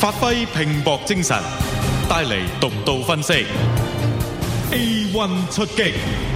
發揮拼搏精神，帶嚟獨到分析。A1 出擊。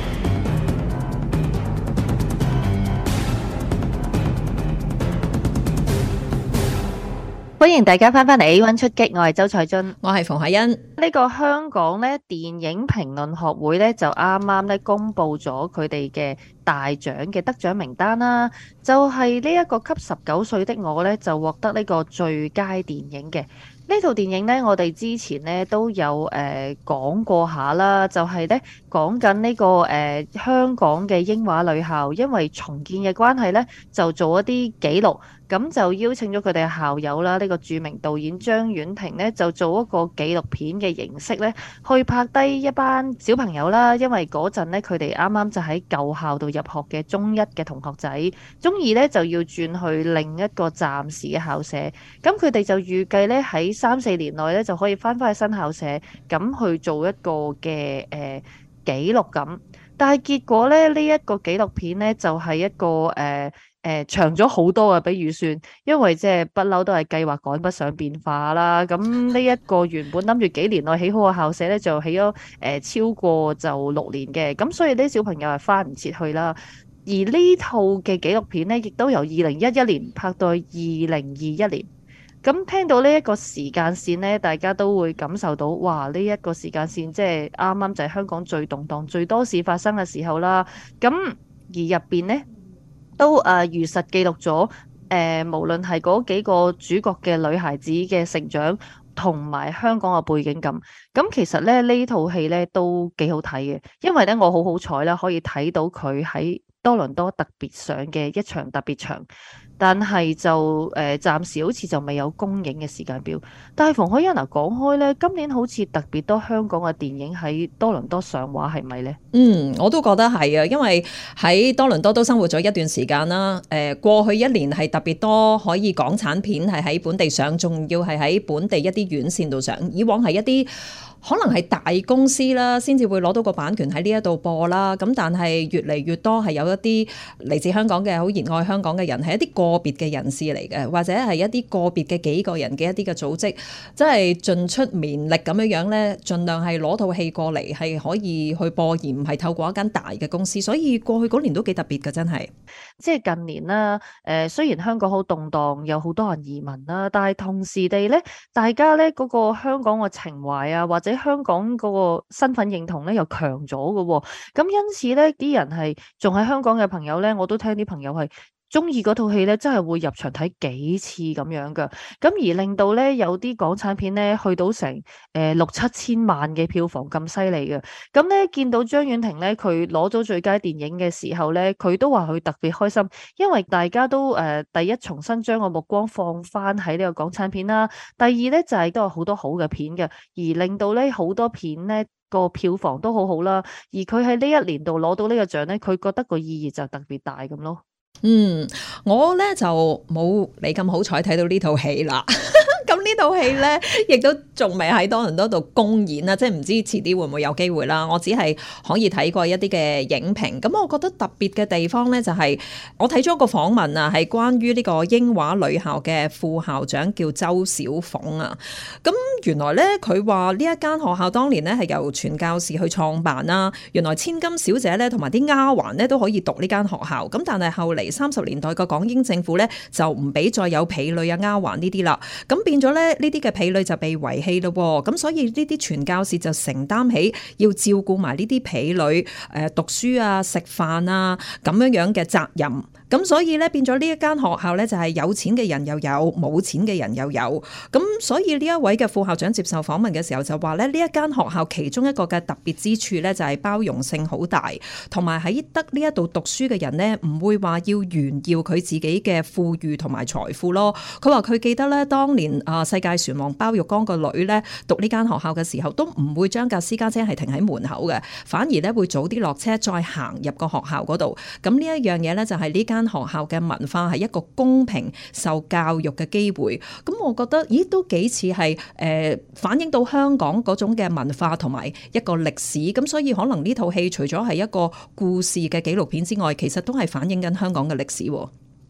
歡迎大家翻返嚟 A1 出擊，我係周采蓁， 我係馮海欣。 呢個香港咧電影評論學會咧就啱啱咧公布咗佢哋嘅大獎嘅得獎名單啦，就係呢一個給19歲的我咧就獲得呢個最佳電影嘅。呢套電影呢，我哋之前呢都有講過下啦，就係呢講緊呢個香港嘅英華女校，因為重建嘅關係呢，就做一啲記錄，咁就邀請咗佢哋嘅校友啦，呢個著名導演張婉婷呢，就做一個紀錄片嘅形式呢，去拍低一班小朋友啦，因為嗰陣呢，佢哋啱啱就喺舊校度入學嘅中一嘅同學仔，中二呢就要轉去另一個暫時嘅校舍，咁佢哋就預計呢喺3-4年內咧就可以翻返去新校舍，咁去做一個嘅記錄咁。但係結果咧，呢一個紀錄片咧就係一個長咗好多嘅比預算，因為即係不嬲都係計劃趕不上變化啦。咁呢一個原本諗住幾年內起好嘅校舍咧，就起咗超過就6年嘅，咁所以啲小朋友係翻唔切去啦。而呢套嘅紀錄片咧，亦都由2011年拍到2021年。咁聽到呢一個時間線呢，大家都會感受到，哇！呢一個時間線即係啱啱就係香港最動盪、最多事發生嘅時候啦。咁而入邊呢，都如實記錄咗無論係嗰幾個主角嘅女孩子嘅成長，同埋香港嘅背景咁。咁其實咧呢套戲呢都幾好睇嘅，因為呢我好彩啦，可以睇到佢喺多倫多特別上嘅一場特別場。但係就暫時好似就未有公映嘅時間表。但係馮海欣講開呢，今年好似特別多香港嘅電影喺多倫多上畫，係咪呢？ 我都覺得係啊，因為喺多倫多都生活咗一段時間啦。過去1年係特別多可以港產片係喺本地上，仲要係喺本地一啲院線度上。以往係一啲可能係大公司啦，先至會攞到個版權喺呢一度播啦。咁但係越嚟越多係有一啲嚟自香港嘅好熱愛香港嘅人，係一啲個別嘅人士嚟嘅，或者係一啲個別嘅幾個人嘅一啲嘅組織，即係盡出綿力咁樣咧，盡量係攞套戲過嚟係可以去播，而唔係透過一間大嘅公司。所以過去嗰年都幾特別嘅，真係。 即係近年啦，雖然香港好動盪，有好多人移民啦，但係同時地咧，大家咧嗰個香港嘅情懷啊，或者香港嗰個身份認同咧又強咗嘅喎。咁因此咧，啲人係仲喺香港嘅朋友咧，我都聽啲朋友係中意嗰套戲咧，真係會入場睇幾次咁樣噶。咁而令到咧有啲港產片咧去到成6-7千萬嘅票房咁犀利嘅。咁咧見到張婉婷咧佢攞咗最佳電影嘅時候咧，佢都話佢特別開心，因為大家都第一重新將個目光放翻喺呢個港產片啦。第二咧就係都有好多好嘅片嘅，而令到咧好多片咧個票房都好好啦。而佢喺呢一年度攞到呢個獎咧，佢覺得個意義就特別大咁咯。 我咧就冇你咁好彩睇到呢套戲啦。咁呢套戲咧，亦都仲未喺多倫多度公演啦，即係唔知遲啲會唔會有機會啦。我只係可以睇過一啲嘅影評。咁我覺得特別嘅地方咧，就係我睇咗個訪問啊，係關於呢個英華女校嘅副校長叫周小鳳啊。咁原來咧，佢話呢一間學校當年咧係由傳教士去創辦啦。原來千金小姐咧同埋啲丫鬟咧都可以讀呢間學校。咁但係後嚟30年代個港英政府咧就唔俾再有婢女啊、丫鬟呢啲啦。咁變咗咧，呢啲嘅婢女就被遺棄咯。咁所以呢啲傳教士就承擔起要照顧埋呢啲婢女讀書啊、食飯啊咁樣嘅責任。咁所以咧變咗呢一間學校咧就係有錢嘅人又有，冇錢嘅人又有。咁所以呢一位嘅副校長接受訪問嘅時候就話咧，呢一間學校其中一個嘅特別之處咧就係包容性好大，同埋喺得呢一度讀書嘅人咧唔會話要炫耀佢自己嘅富裕同埋財富咯。佢話佢記得咧當年世界船王包玉剛個女咧讀呢間學校嘅時候，都唔會將架私家車係停喺門口嘅，反而咧會早啲落車再行入個學校嗰度。咁呢一樣嘢咧就係呢間學校嘅文化係一個公平受教育嘅機會。咁我覺得都幾似係反映到香港嗰種嘅文化同埋一個歷史。咁所以可能呢套戲除咗係一個故事嘅紀錄片之外，其實都係反映緊香港嘅歷史。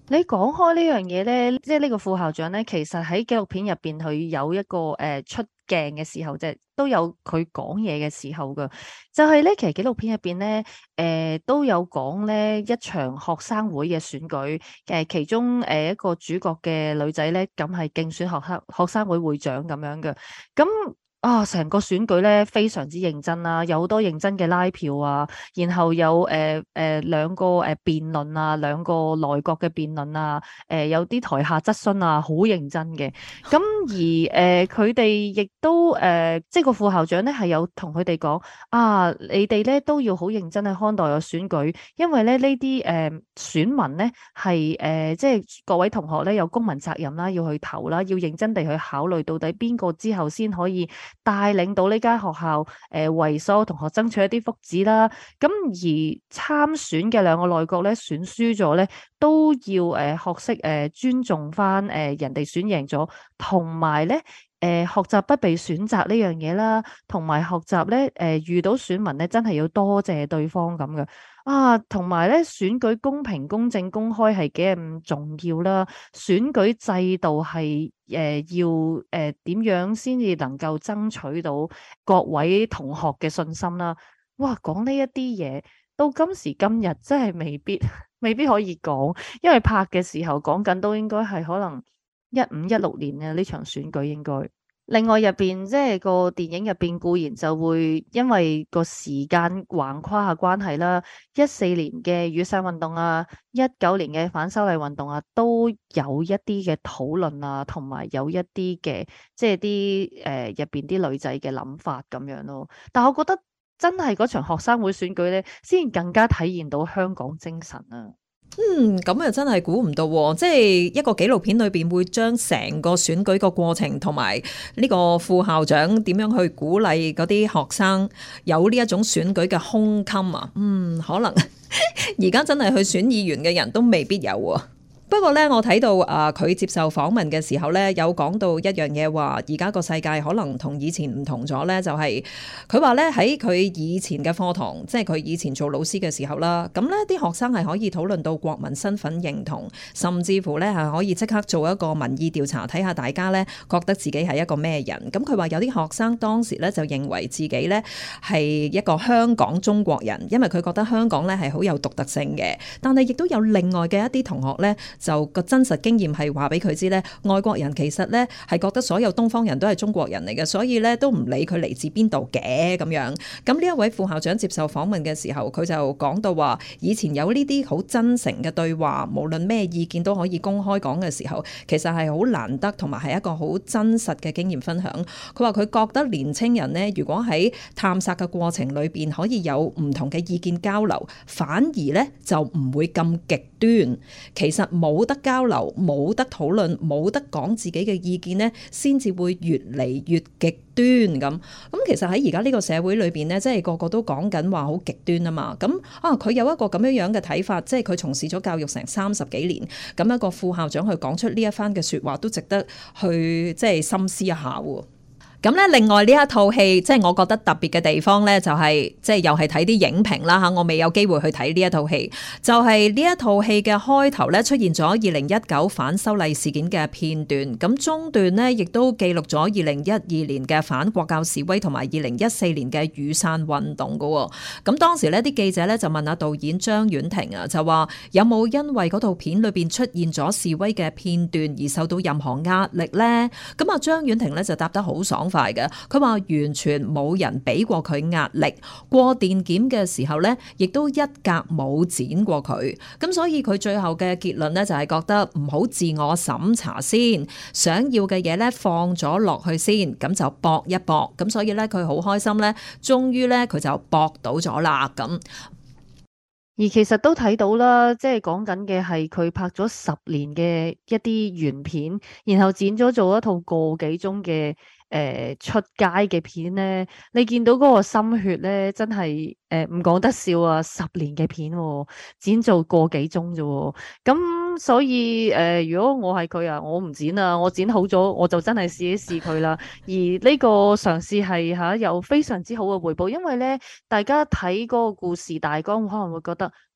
你講開呢樣嘢咧，即係呢個副校長咧，其實喺紀錄片入邊佢有一個出鏡嘅時候，即係都有佢講嘢嘅時候噶。就係咧，其實紀錄片入邊咧，都有講咧一場學生會嘅選舉，其中一個主角嘅女仔咧，咁係競選學生會會長咁樣嘅。咁成個選舉咧非常之認真啦，有好多認真嘅拉票啊，然後有兩個辯論啊，兩個內閣嘅辯論啊，有啲台下質詢啊，好認真嘅。咁而佢哋亦都即係個副校長咧係有同佢哋講你哋咧都要好認真去看待個選舉，因為咧呢啲選民咧係即係各位同學咧有公民責任啦，要去投啦，要認真地去考慮到底邊個之後先可以帶領到呢間學校為所有同學爭取一啲福祉啦。咁而參選嘅兩個內閣咧選輸咗咧，都要學識尊重翻人哋選贏咗，同埋咧學習不被選擇呢樣嘢啦，同埋學習咧遇到選民咧真係要多謝對方咁嘅。同埋咧選舉公平、公正、公開係幾咁重要啦。選舉制度係要點樣先至能夠爭取到各位同學嘅信心啦。哇，講呢一啲嘢到今時今日真係未必可以講，因為拍嘅時候講緊都應該係可能15、16年嘅呢場選舉應該。另外入邊即係個電影入邊固然就會因為個時間橫跨下關係啦，14年嘅雨傘運動啊，19年嘅反修例運動啊，都有一啲嘅討論啊，同埋有一啲嘅即係啲入邊啲女仔嘅諗法咁樣咯。但係我覺得真係嗰場學生會選舉咧，先更加體現到香港精神啊！ 咁啊真係估唔到喎，即係一個紀錄片裏邊會將成個選舉個過程同埋呢個副校長點樣去鼓勵嗰啲學生有呢一種選舉嘅胸襟啊，可能而家真係去選議員嘅人都未必有喎。不過咧，我睇到佢接受訪問嘅時候咧，有講到一樣嘢，話而家個世界可能同以前唔同咗咧，就係佢話咧喺佢以前嘅課堂，即係佢以前做老師嘅時候啦，咁咧啲學生係可以討論到國民身份認同，甚至乎咧係可以即刻做一個民意調查，睇下大家咧覺得自己係一個咩人。咁佢話有啲學生當時咧就認為自己咧係一個香港中國人，因為佢覺得香港咧係好有獨特性嘅。但係亦都有另外嘅一啲同學咧，就個真實經驗係話俾佢知咧，外國人其實咧係覺得所有東方人都係中國人嚟嘅，所以咧都唔理佢嚟自邊度嘅咁樣。咁呢一位副校長接受訪問嘅時候，佢就講到話，以前有呢啲好真誠嘅對話，無論咩意見都可以公開講嘅時候，其實係好難得，同埋係一個好真實嘅經驗分享。佢話佢覺得年青人呢，如果喺探索嘅過程裏邊可以有唔同嘅意見交流，反而咧就唔會咁極端。其實冇得交流，冇得討論，冇得講自己嘅意見呢，先至會越嚟越極端咁。其實喺而家呢個社會裏邊呢，即係個個都講緊話好極端啊嘛。咁佢有一個咁樣嘅睇法，即係佢從事咗教育成30幾年，咁一個副校長去講出呢一番嘅說話，都值得去即係深思一下喎。咁咧，另外呢一套戲，即係我覺得特別嘅地方咧，就係即係又係睇啲影評啦嚇，我未有機會去睇呢一套戲，就係呢一套戲嘅開頭咧出現咗2019反修例事件嘅片段，咁中段呢，亦都記錄咗2012年嘅反國教示威同埋2014年嘅雨傘運動噶喎。咁當時呢啲記者咧就問下導演張婉婷啊，就話有冇因為嗰套片裏邊出現咗示威嘅片段而受到任何壓力咧？咁啊張婉婷咧就答得好爽快嘅，佢話完全冇人俾過佢壓力，過電檢嘅時候咧，亦都一格冇剪過佢，咁所以佢最後嘅結論咧就係覺得唔好自我審查先，想要嘅嘢咧放咗落去先，咁就搏一搏，咁所以咧佢好開心咧，終於咧佢就搏到咗啦咁。 而其實都睇到啦，即係講緊嘅係佢拍咗10年嘅一啲原片，然後剪咗做一套個幾鐘嘅出街嘅片咧，你見到嗰個心血咧，真係唔講得笑啊！10年嘅片剪做個幾鐘啫，咁所以如果我係佢啊，我唔剪啊，我剪好咗我就真係試一試佢啦。而呢個嘗試係有非常之好嘅回報，因為咧大家睇嗰個故事大綱可能會覺得，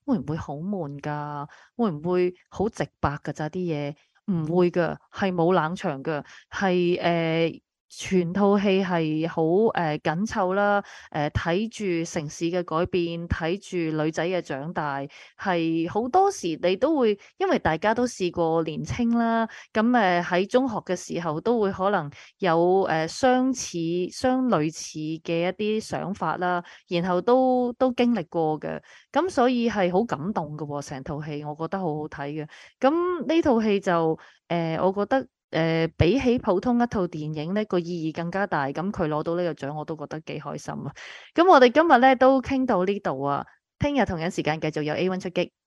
會唔會好悶㗎？會唔會好直白㗎咋啲嘢？唔會㗎，係冇冷場㗎，係全套戲係好緊湊啦，睇住城市嘅改變，睇住女仔嘅長大，係好多時你都會，因為大家都試過年青啦，咁喺中學嘅時候都會可能有相類似嘅一啲想法啦，然後都經歷過嘅，咁所以係好感動嘅喎，成套戲我覺得好好睇嘅。咁呢套戲就我覺得比起普通一套電影呢個意義更加大，咁佢攞到呢個獎我都覺得幾開心啊！咁我哋今日呢都傾到呢度啊，聽日同樣時間繼續有 A1 出擊。